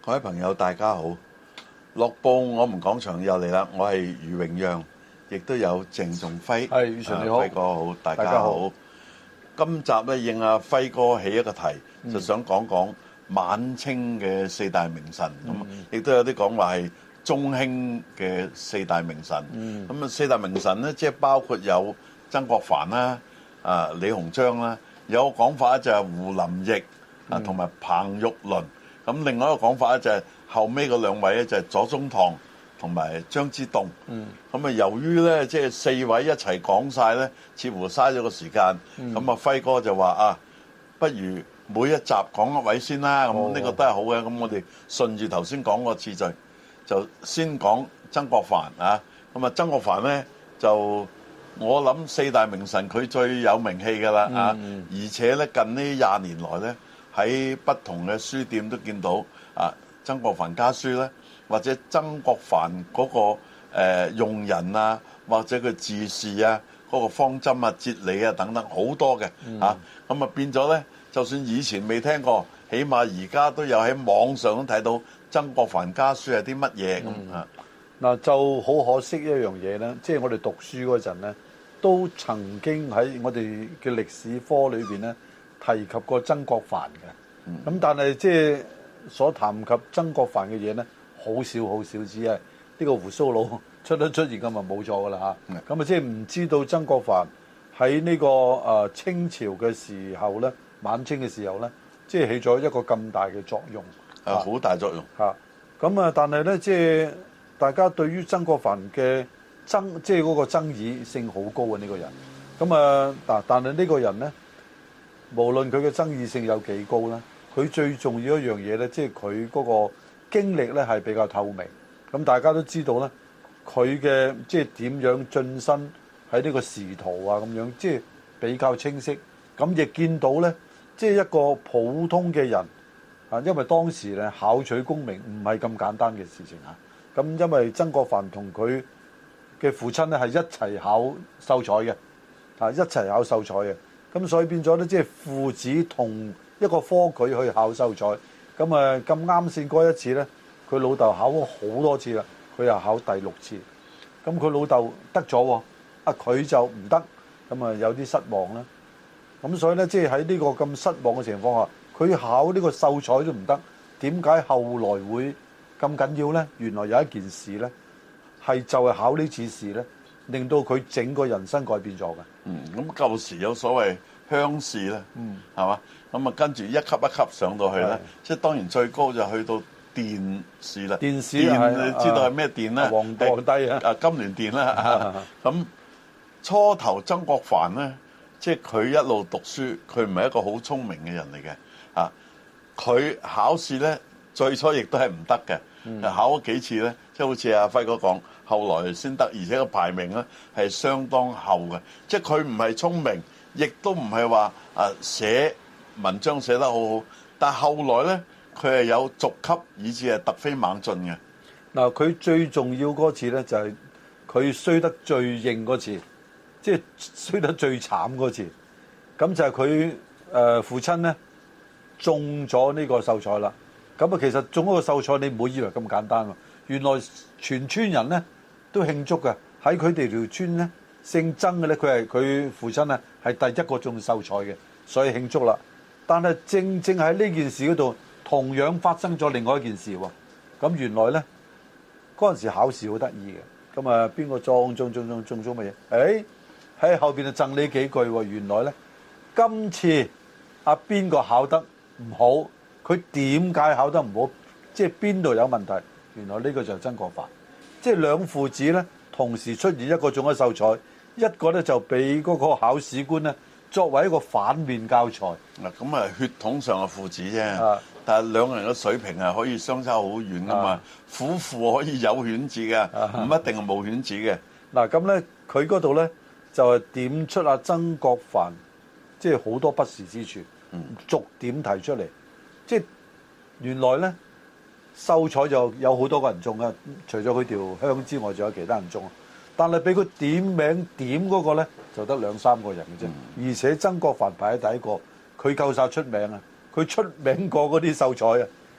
各位朋友，大家好！樂報我們講場又嚟啦，我係余榮讓，亦都有鄭仲輝。 係，余 Sir 你好， 輝哥好，大家好。今集咧應阿輝哥起一個題，就想講講晚清嘅四大名臣，咁亦都有啲講話係中興嘅四大名臣。咁啊，四大名臣咧，即係包括有曾國藩啦、李鴻章啦，有個講法咧就係胡林翼同埋彭玉麟。咁另外一個講法咧就係後尾嗰兩位咧就係左宗棠同埋張之洞。咁啊，由於咧即係四位一齊講晒咧，似乎嘥咗個時間。咁啊，輝哥就話啊，不如每一集講一位先啦。咁呢個都係好嘅。咁我哋順住頭先講個次序，就先講曾國藩啊。咁啊，曾國藩咧就我諗四大名臣佢最有名氣㗎啦啊。而且咧近呢20年來咧，喺不同嘅書店都見到啊，曾國藩家書咧，或者曾國藩嗰個用人啊，或者佢治事啊，嗰個方針啊、哲理啊等等好多嘅嚇。咁啊變咗咧，就算以前未聽過，起碼而家都有喺網上都睇到曾國藩家書係啲乜嘢咁啊。 嗱就好可惜一樣嘢咧，即係我哋讀書嗰陣咧，都曾經喺我哋嘅歷史科裏邊咧提及過曾國藩嘅。咁但係即係所談及曾國藩嘅嘢咧，好少好少，只係呢個胡鬚佬出現咁啊冇咗噶啦嚇。咁啊即係唔知道曾國藩喺呢個清朝嘅時候咧，晚清嘅時候咧，即係起咗一個咁大嘅作用。 好大作用嚇。咁啊，但係咧即係大家對於曾國藩嘅即係嗰個爭議性好高啊呢個人。咁啊但係呢個人咧，無論佢嘅爭議性有幾高啦，佢最重要一樣嘢咧，即係佢嗰個經歷咧係比較透明。咁大家都知道咧，佢嘅即係點樣晉身喺呢個仕途啊咁樣，即係比較清晰。咁亦見到咧，即係一個普通嘅人啊，因為當時咧考取功名唔係咁簡單嘅事情啊。咁因為曾國藩同佢嘅父親咧係一齊考秀才嘅，啊一齊考秀才嘅。咁所以變咗咧，即係父子同一個科舉去考秀才。咁啊咁啱先嗰一次咧，佢老豆考咗好多次啦，佢又考第6次。咁佢老豆得咗喎，佢就唔得，咁啊有啲失望啦。咁所以咧，即係喺呢個咁失望嘅情況下，佢考呢個秀才都唔得。點解後來會咁緊要咧？原來有一件事咧，係就係考呢次試咧，令到佢整個人生改變咗嘅。 咁舊時有所謂鄉試咧，係嘛？咁啊跟住一級一級上到去咧，即係當然最高就去到殿試啦。殿試你知道係咩殿咧？ 皇帝啊， 金鑾殿啦。咁初頭曾國藩咧，即係佢一路讀書，佢唔係一個好聰明嘅人嚟嘅。佢考試咧最初亦都係唔得嘅，考咗幾次咧，即係好似阿輝哥講，後來先得，而且個排名咧係相當後嘅。即係佢唔係聰明，亦都唔係話寫文章寫得好好，但係後來咧佢係有逐級，以至係突飛猛進嘅。 嗱，佢最重要嗰次咧就係佢衰得最認嗰次，即係衰得最慘嗰次。咁就係佢父親咧中咗呢個秀才啦。咁啊，其實中嗰個秀才你唔好以為咁簡單喎。原來全村人咧都慶祝嘅，喺佢哋條村咧姓曾嘅咧，佢父親啊係第一個中秀才嘅，所以慶祝啦。但係正喺呢件事嗰度，同樣發生咗另外一件事喎。咁原來咧嗰陣時考試好得意嘅，咁啊邊個中咗乜嘢？喺後邊就贈你幾句喎。原來咧今次邊個考得唔好？佢點解考得唔好？即係邊度有問題？原來呢個就係曾國藩，即係兩父子咧同時出現，一個中咗秀才，一個咧就俾嗰個考試官咧作為一個反面教材。 嗱咁啊，血統上嘅父子啫，但係兩個人嘅水平係可以相差好遠噶嘛。夫婦可以有犬子嘅，唔一定係冇犬子嘅。 嗱咁咧，佢嗰度咧就係點出阿曾國藩，即係好多不是之處，逐點提出嚟。即係原來咧，秀才就有好多個人中啊，除咗佢條鄉之外，仲有其他人中。但係俾佢點名點嗰個咧，就得2-3個人嘅啫。而且曾國藩排喺第一個，佢夠晒出名啊！佢出名過嗰啲秀才啊，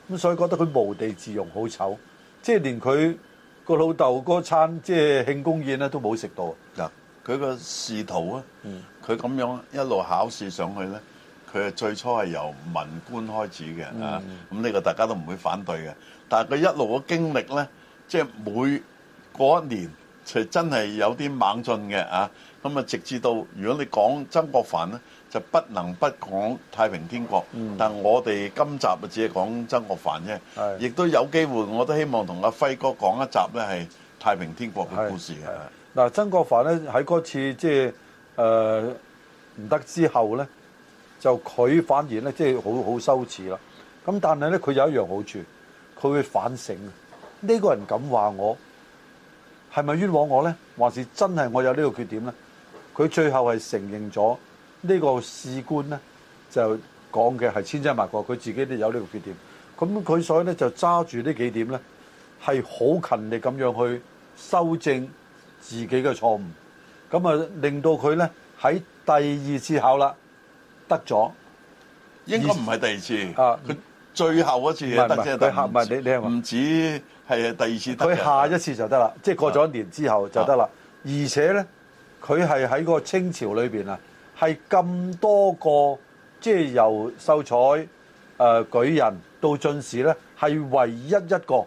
咁所以覺得佢無地自容，好醜，即係連佢個老豆嗰餐即係慶功宴咧都冇食到。 嗱，佢個仕途啊，佢咁樣一路考試上去咧，佢係最初係由文官開始嘅啊，咁呢個大家都唔會反對嘅。但係佢一路嘅經歷咧，即係每過一年就真係有啲猛進嘅啊。咁啊，直至到如果你講曾國藩咧，就不能不講太平天國。但我哋今集啊，只係講曾國藩啫，亦都有機會，我都希望同阿輝哥講一集咧，係太平天國嘅故事嘅。 嗱，曾國藩咧喺嗰次即係唔得之後咧，就佢反而咧即係好羞恥啦。咁但係咧，佢有一樣好處，佢會反省啊。呢個人咁話我，係咪冤枉我咧？還是真係我有呢個缺點咧？佢最後係承認咗呢個士官咧，就講嘅係千真萬確，佢自己都有呢個缺點。咁佢所以咧就揸住呢幾點咧，係好勤力咁樣去修正自己嘅錯誤。咁啊，令到佢咧喺第二次考啦得咗， 應該唔係第二次啊，佢最後嗰次得啫， 唔係唔止係第二次得。 佢下一次就得啦，即係過咗一年之後就得啦。而且咧，佢係喺個清朝裏邊啊，係咁多個即係由秀才、舉人到進士咧，係唯一一個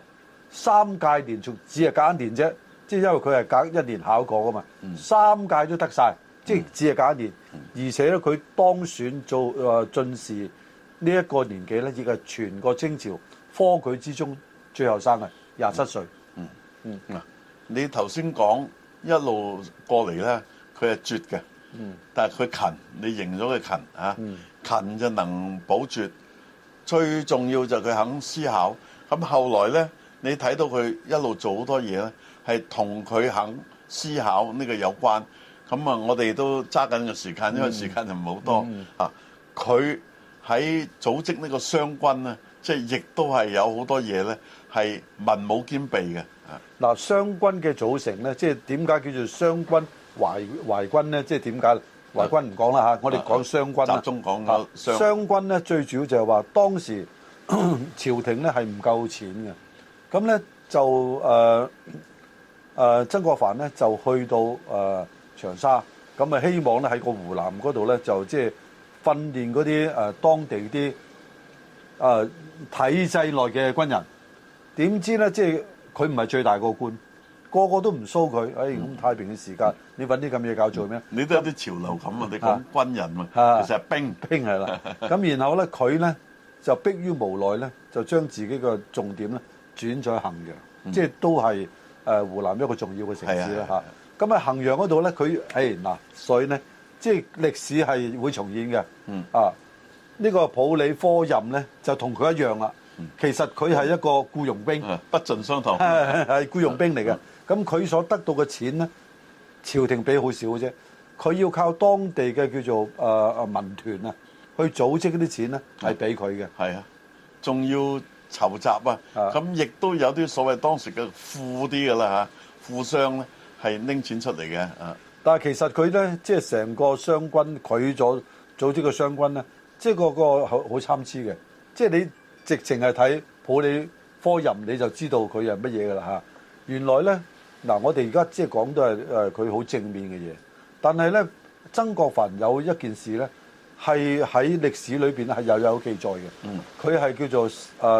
3屆連續只係隔一年啫。即係因為佢係隔一年考過噶嘛，3屆都得晒，即係只係隔一年。而且咧，佢當選做進士呢一個年紀咧，亦係全個清朝科舉之中最後生嘅27歲。 你頭先講一路過嚟咧，佢係絕嘅，但係佢勤，你認咗佢勤啊，勤就能補絕。最重要就係佢肯思考。咁後來咧，你睇到佢一路做好多嘢咧，係同佢肯思考呢個有關。咁啊，我哋都揸緊個時間，因為時間就唔係好多啊。佢喺組織呢個湘軍咧，即係亦都係有好多嘢咧，係文武兼備嘅。 嗱，湘軍嘅組成咧，即係點解叫做湘軍淮軍咧？即係點解？淮軍唔講啦嚇，我哋講湘軍啦。 集中講湘軍咧，最主要就係話當時朝廷咧係唔夠錢嘅，咁咧就曾國藩咧就去到長沙，咁啊希望咧喺個湖南嗰度咧就即係訓練嗰啲當地啲體制內嘅軍人。點知咧即係佢唔係最大個官，個個都唔蘇佢。咁太平嘅時間，你揾啲咁嘢搞做咩？ 你都有啲潮流感啊！你講軍人啊，其實係兵係啦。咁然後咧，佢咧就迫於無奈咧，就將自己嘅重點咧轉咗去衡陽，即係都係湖南一個重要嘅城市啦嚇。咁喺衡陽嗰度咧，佢嗱，所以咧即係歷史係會重演嘅。呢個普理科任咧就同佢一樣啦。其實佢係一個僱傭兵， 不盡相同， 係僱傭兵嚟嘅。咁佢所得到嘅錢咧，朝廷俾好少嘅啫。佢要靠當地嘅叫做民團啊，去組織嗰啲錢咧，係俾佢嘅。 係啊，仲要籌集啊。咁亦都有啲所謂當時嘅富啲嘅啦嚇，富商咧係拎錢出嚟嘅。 但係其實佢咧，即係成個湘軍，佢組織嘅湘軍咧，即係個好參差嘅。即係你直情係睇普理科任，你就知道佢係乜嘢㗎啦嚇。原來咧嗱，我哋而家即係講都係佢好正面嘅嘢，但係咧曾國藩有一件事咧係喺歷史裏邊係又有記載嘅。佢係叫做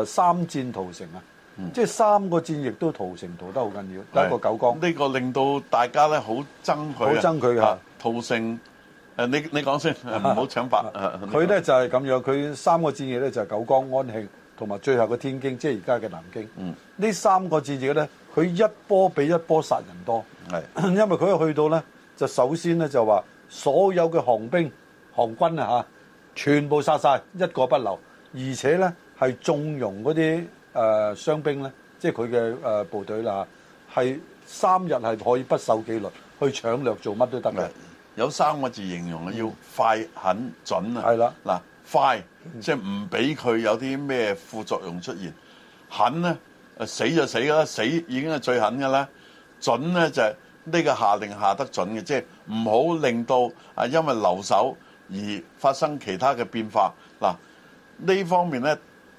3戰屠城啊，即係3個戰役都屠城屠得好緊要。第一個九江， 呢個令到大家咧好憎佢， 好憎佢㗎。 屠城你講先，唔好搶白。 佢咧就係咁樣，佢3個戰役咧就係九江、安慶同埋最後嘅天京，即係而家嘅南京。呢3個戰役咧，佢一波比一波殺人多。因為佢去到咧，就首先咧就話所有嘅韓軍啊全部殺晒，一個不留，而且咧係縱容嗰啲傷兵咧，即係佢嘅部隊啦，係3日係可以不受紀律去搶掠，做乜都得嘅。 有3個字形容要快、狠、準啊！ 係啦， 嗱，快即係唔俾佢有啲咩副作用出現；狠咧，死就死㗎啦，死已經係最狠㗎啦。準咧就係呢個下令下得準嘅，即係唔好令到因為留守而發生其他嘅變化。嗱，呢方面咧，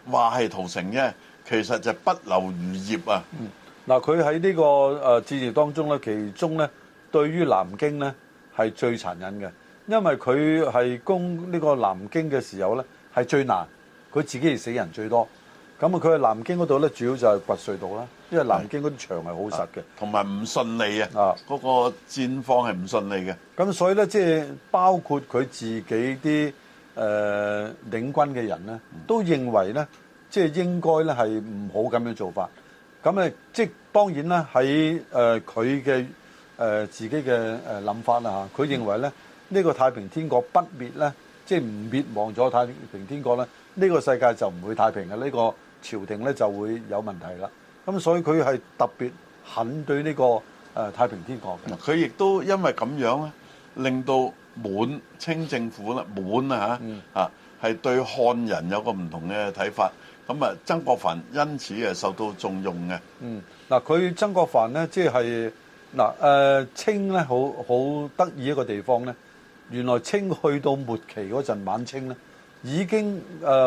話係屠城啫，其實就不留餘孽啊！ 嗱，佢喺呢個戰役當中咧，其中咧對於南京咧係最殘忍嘅，因為佢係攻呢個南京嘅時候咧係最難，佢自己係死人最多。咁啊，佢喺南京嗰度咧，主要就係掘隧道啦，因為南京嗰啲牆係好實嘅， 同埋唔順利啊！嗰個戰況係唔順利嘅。 咁所以咧，即係包括佢自己啲領軍嘅人咧，都認為咧，即係應該咧係唔好咁樣做法。咁即係當然啦，喺佢嘅自己嘅諗法啦嚇，佢認為咧呢個太平天國不滅咧，即係唔滅亡咗太平天國咧，呢個世界就唔會太平嘅，呢個朝廷咧就會有問題啦。咁所以佢係特別狠對呢個太平天國嘅。 佢亦都因為咁樣咧，令到滿清政府啦，滿係對漢人有個唔同嘅睇法。咁啊，曾國藩因此受到重用嘅。 嗱，佢曾國藩咧，即係清咧，好得意一個地方咧。原來清去到末期嗰陣，晚清咧已經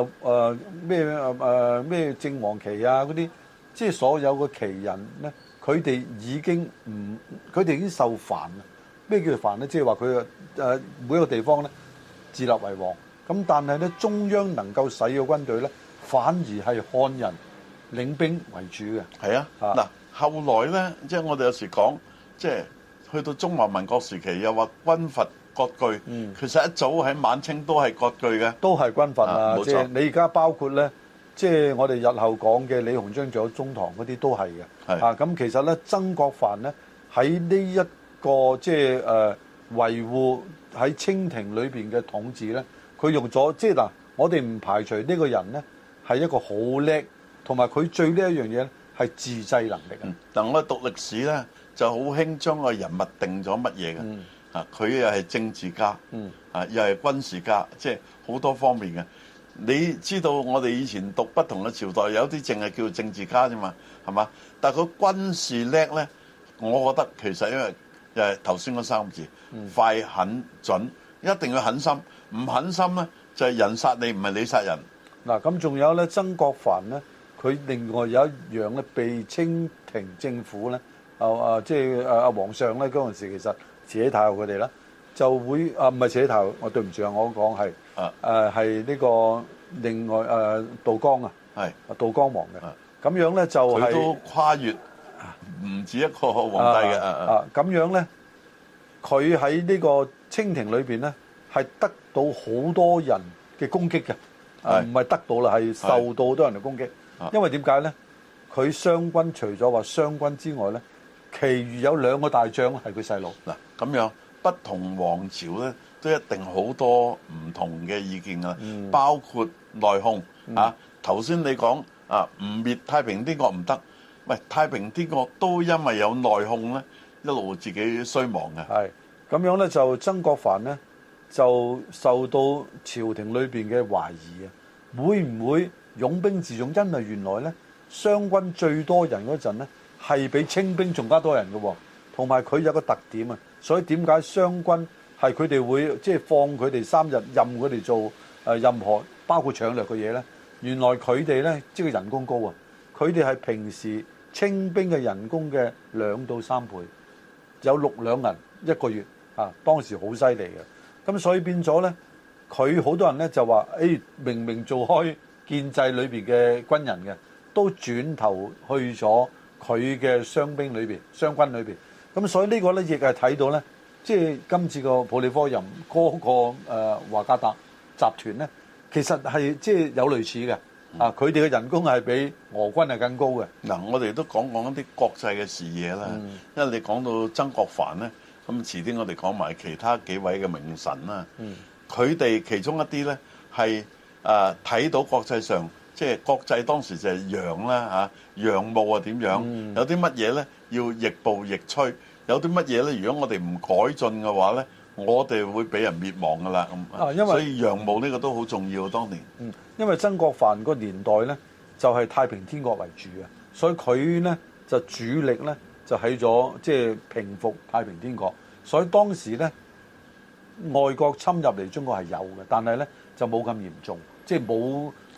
咩正黃旗啊嗰啲，即係所有嘅旗人咧，佢哋已經受煩啦。咩叫做煩咧？即係話佢每一個地方咧自立為王。咁但係咧，中央能夠使嘅軍隊咧，反而係漢人領兵為主嘅。 係啊，嗱，後來咧，即係我哋有時講，即係去到中華民國時期，又話軍閥割據。其實一早喺晚清都係割據嘅， 都係軍閥啊。 冇錯。 即係你而家包括咧，即係我哋日後講嘅李鴻章仲有中堂嗰啲都係嘅。咁其實咧，曾國藩咧喺呢一個即係維護喺清廷裏邊嘅統治咧，佢用咗即係嗱，我哋唔排除呢個人咧係一個好叻，同埋佢最叻一樣嘢咧係自制能力啊。 但我讀歷史咧就好興將個人物定咗乜嘢嘅。佢又係政治家，又係軍事家，即係好多方面嘅。你知道我哋以前讀不同嘅朝代，有啲淨係叫政治家啫嘛，係嘛？但係佢軍事叻咧，我覺得其實因為又係頭先嗰三個字，快、狠、準，一定要狠心。唔狠心咧，就係人殺你，唔係你殺人。 嗱，咁仲有咧，曾國藩咧，佢另外有一樣咧，被清廷政府咧，即係皇上咧嗰陣時，其實慈禧太后佢哋啦，就會唔係慈禧太后，我對唔住啊，我講係係呢個另外道光啊，係道光皇嘅。咁樣咧就係佢都跨越唔止一個皇帝嘅。 咁樣咧，佢喺呢個清廷裏邊咧，係得到好多人嘅攻擊嘅，唔係得到啦，係受到好多人嘅攻擊。因為點解咧？佢湘軍除咗話湘軍之外咧，其餘有2個大將係佢細路。 嗱，咁樣不同王朝咧，都一定好多唔同嘅意見噶，包括內訌啊。頭先你講唔滅太平天國唔得，喂，太平天國都因為有內訌咧，一路自己衰亡嘅。 係咁樣咧，就曾國藩咧就受到朝廷裏邊嘅懷疑啊，會唔會擁兵自重？因為原來咧湘軍最多人嗰陣咧係比清兵仲加多人嘅喎，同埋佢有個特點啊，所以點解湘軍係佢哋會即係放佢哋3日任佢哋做任何包括搶掠嘅嘢咧？原來佢哋咧即係人工高啊，佢哋係平時清兵嘅人工嘅2到3倍，有6兩銀一個月啊，當時好犀利嘅。咁所以變咗咧，佢好多人咧就話，明明做開建制裏邊嘅軍人嘅，都轉頭去咗佢嘅湘軍裏邊。咁所以呢個咧亦係睇到咧，即係今次個普利科任嗰個華家達集團咧，其實係即係有類似嘅。佢哋嘅人工係比俄軍係更高嘅。 嗱，我哋都講一啲國際嘅事嘢啦。因為你講到曾國藩咧。咁遲啲我哋講埋其他幾位嘅名臣啦，佢哋其中一啲咧係睇到國際上，即係國際當時就係洋啦嚇，洋務啊點樣？有啲乜嘢咧要逆步逆趨，有啲乜嘢咧？如果我哋唔改進嘅話咧，我哋會俾人滅亡噶啦咁。因為所以洋務呢個都好重要當年。 因為曾國藩個年代咧就係太平天國為主嘅，所以佢咧就主力咧。就喺咗即係平復太平天國，所以當時咧外國侵入嚟中國係有嘅，但係咧就冇咁嚴重，即係冇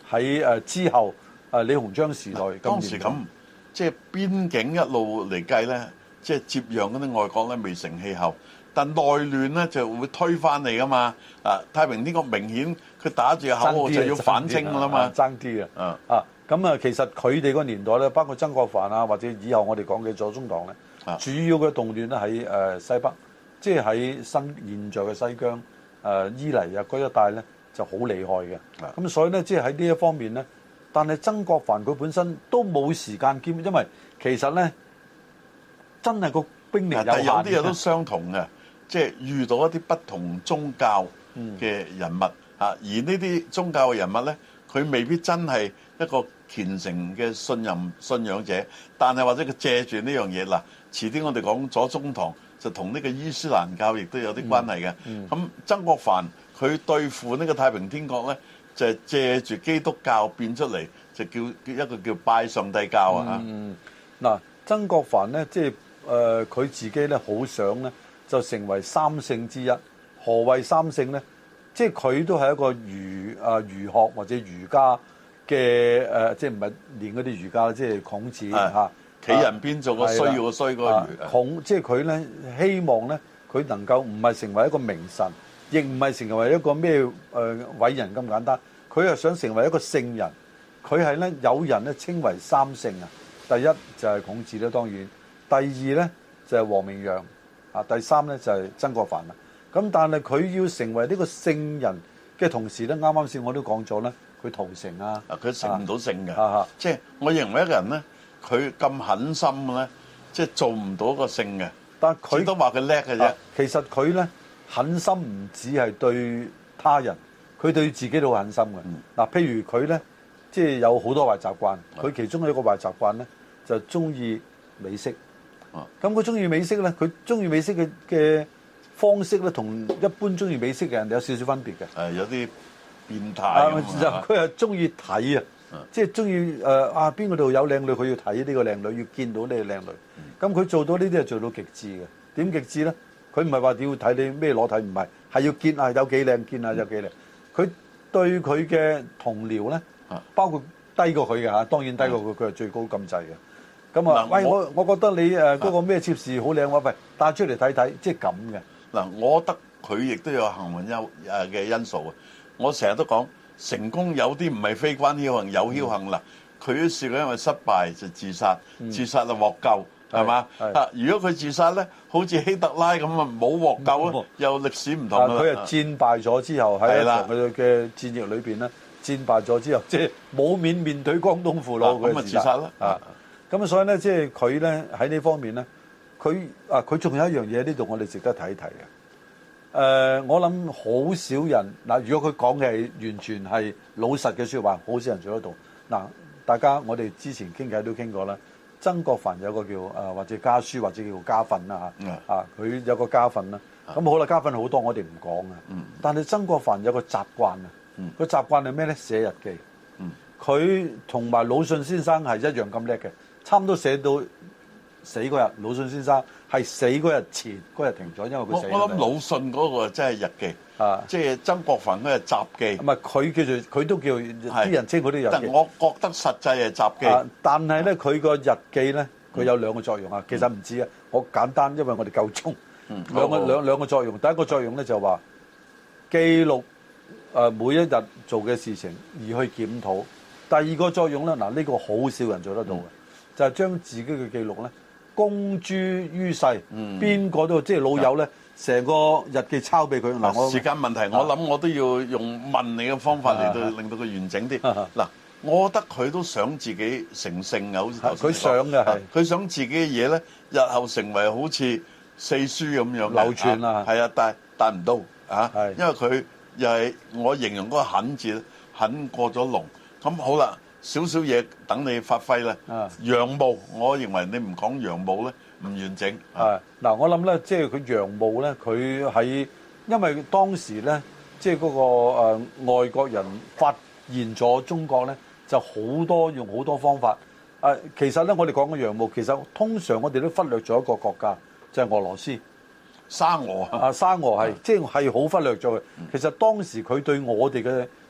喺之後李鴻章時代當時咁，即係邊境一路嚟計咧，即係接壤嗰啲外國咧未成氣候，但內亂咧就會推翻嚟噶嘛。太平天國明顯佢打住口號就要反清噶啦嘛， 爭啲咁其實佢哋個年代咧，包括曾國藩啊，或者以後我哋講嘅左宗棠咧，主要嘅動亂咧喺西北，即係喺現在嘅西疆伊犁啊嗰一帶咧就好厲害嘅。咁所以咧，即係喺呢一方面咧，但係曾國藩佢本身都冇時間兼，因為其實咧真係個兵力有限， 但有啲嘢都相同嘅，即係遇到一啲不同宗教嘅人物而呢啲宗教嘅人物咧，佢未必真係一個虔誠嘅信仰者，但係或者佢借住呢樣嘢嗱，遲啲我哋講左宗棠就同呢個伊斯蘭教亦都有啲關係嘅。咁曾國藩佢對付呢個太平天國咧，就係借住基督教變出嚟，就叫一個叫拜上帝教嗱，曾國藩咧，即係佢自己咧，好想咧就成為三聖之一。何謂三聖咧？即係佢都係一個儒學或者儒家嘅即係唔係練嗰啲儒家，即係孔子企人邊做個衰個衰個儒。 即係佢咧希望咧，佢能夠唔係成為一個名臣，亦唔係成為一個咩偉人咁簡單。佢係想成為一個聖人。佢係咧有人咧稱為三聖啊。第一就係孔子啦，當然。第二咧就係王明陽第三咧就係曾國藩啦。咁但係佢要成為呢個聖人嘅同時咧，啱啱先我都講咗咧，佢屠城佢成唔到聖嘅。即係我認為一個人咧，佢咁狠心嘅咧，即係做唔到一個聖嘅。但佢都話佢叻嘅啫。 其實佢咧狠心唔止係對他人，佢對自己都好狠心嘅。譬如佢咧，即係有好多壞習慣。佢其中一個壞習慣咧，就中意美色。咁佢中意美色咧，佢中意美色嘅方式咧，同一般中意美色嘅人有少少分別嘅。 有啲變態。 佢係中意睇即係中意邊個度有靚女，佢要睇呢個靚女，要見到呢個靚女。咁佢做到呢啲係做到極致嘅。點極致咧？佢唔係話要睇你咩裸體，唔係，係要見下有幾靚，見下有幾靚。佢對佢嘅同僚咧，包括低過佢嘅當然低過佢，佢係最高咁滯嘅。咁喂，我覺得你嗰個咩妾侍好靚喎，喂，帶出嚟睇睇，即係咁嘅。 我覺得佢亦都有幸運嘅因素啊！我成日都講成功有啲唔係非關僥幸，有僥幸啦。佢都試過因為失敗就自殺，自殺就獲救，係嘛？如果佢自殺咧，好似希特拉咁冇獲救咧，又歷史唔同啦。 佢係戰敗咗之後喺一場佢嘅戰役裏邊咧，戰敗咗之後，即係冇面對江東父老，佢自殺啦。 咁所以咧，即係佢咧喺呢方面咧，佢仲有一樣嘢呢度我哋值得睇一睇嘅。我諗好少人如果佢講嘅係完全係老實嘅說話，好少人做得到。大家我哋之前傾偈都傾過啦。曾國藩有個叫或者家書或者叫家訓啦佢有個家訓啦。咁好啦，家訓好多我哋唔講但係曾國藩有個習慣個習慣係咩咧？寫日記。佢同埋魯迅先生係一樣咁叻嘅。差唔多寫到死嗰日，魯迅先生係死嗰日前嗰日停咗，因為佢死咗。我諗魯迅嗰個真係日記，即係曾國藩嗰係雜記。 唔係佢叫做，佢都叫啲人稱嗰啲日記。 但我覺得實際係雜記。 但係咧，佢個日記咧，佢有兩個作用其實唔止我簡單，因為我哋夠鐘。兩個作用，第一個作用咧就話記錄每一日做嘅事情而去檢討。第二個作用咧，呢個好少人做得到嘅。就係將自己嘅記錄咧公諸於世，邊個都即係老友咧，成個日記抄俾佢。 我時間問題，我諗我都要用問你嘅方法嚟到令到佢完整啲。我覺得佢都想自己成聖好似頭先佢想嘅係， 佢想自己嘅嘢咧，日後成為好似四書咁樣流傳啊。 係但唔到因為佢又係我形容嗰個狠字，狠過咗龍。咁好啦。少少嘢等你發揮咧，洋務，我認為你唔講洋務咧唔完整。 我諗咧，即係佢洋務咧，佢喺因為當時咧，即係嗰個外國人發現咗中國咧，就用好多方法。其實咧，我哋講嘅洋務，其實通常我哋都忽略咗一個國家，就係俄羅斯。 沙俄沙俄係即係好忽略咗嘅。其實當時佢對我哋嘅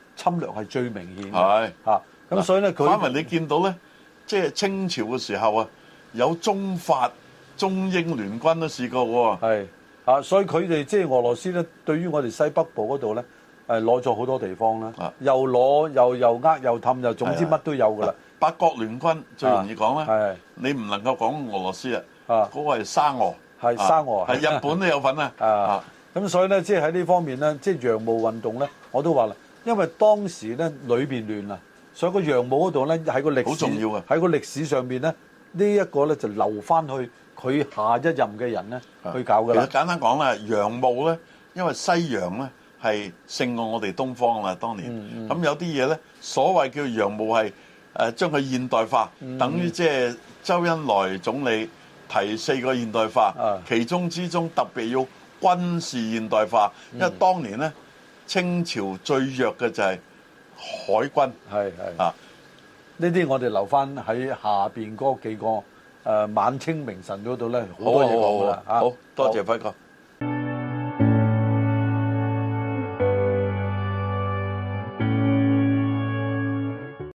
侵略係最明顯嘅。 係嚇，咁所以咧，佢反為你見到咧，即係清朝嘅時候啊，有中法、中英聯軍都試過喎。 係啊，所以佢哋即係俄羅斯咧，對於我哋西北部嗰度咧，攞咗好多地方啦，又攞又又氹，又總之乜都有㗎啦。 八國聯軍最容易講啦， 係你唔能夠講俄羅斯啊，嗰個係沙俄， 係沙俄， 係日本都有份啊。 啊，咁所以咧，即係喺呢方面咧，即係洋務運動咧，我都話啦，因為當時咧裏邊亂啊，所以個洋務嗰度咧喺個歷史好重要嘅， 喺個歷史上邊咧，呢一個咧就留翻去佢下一任嘅人咧去搞㗎啦。 其實簡單講啦，洋務咧，因為西洋咧係勝過我哋東方啦，當年。咁有啲嘢咧，所謂叫洋務係將佢現代化，等於即係周恩來總理提4個現代化，其中之中特別要軍事現代化，因為當年咧清朝最弱嘅就係海軍。係啊， 呢啲我哋留翻喺下邊嗰幾個晚清名臣嗰度咧，好多嘢講㗎啦。 好多謝輝哥。